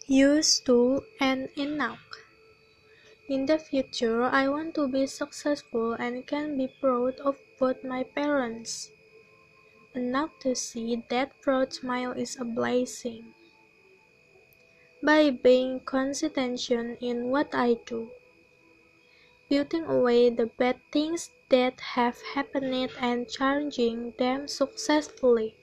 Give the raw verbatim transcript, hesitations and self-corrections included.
Used to and enough. In the future, I want to be successful and can be proud of both my parents. Enough to see that proud smile is a blessing. By being consistent in what I do, putting away the bad things that have happened and changing them successfully.